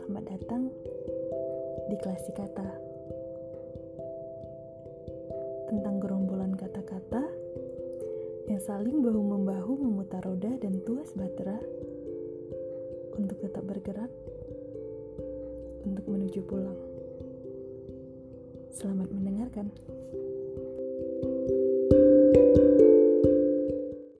Selamat datang di Klasi Kata, tentang gerombolan kata-kata yang saling bahu-membahu memutar roda dan tuas bahtera untuk tetap bergerak untuk menuju pulang. Selamat mendengarkan.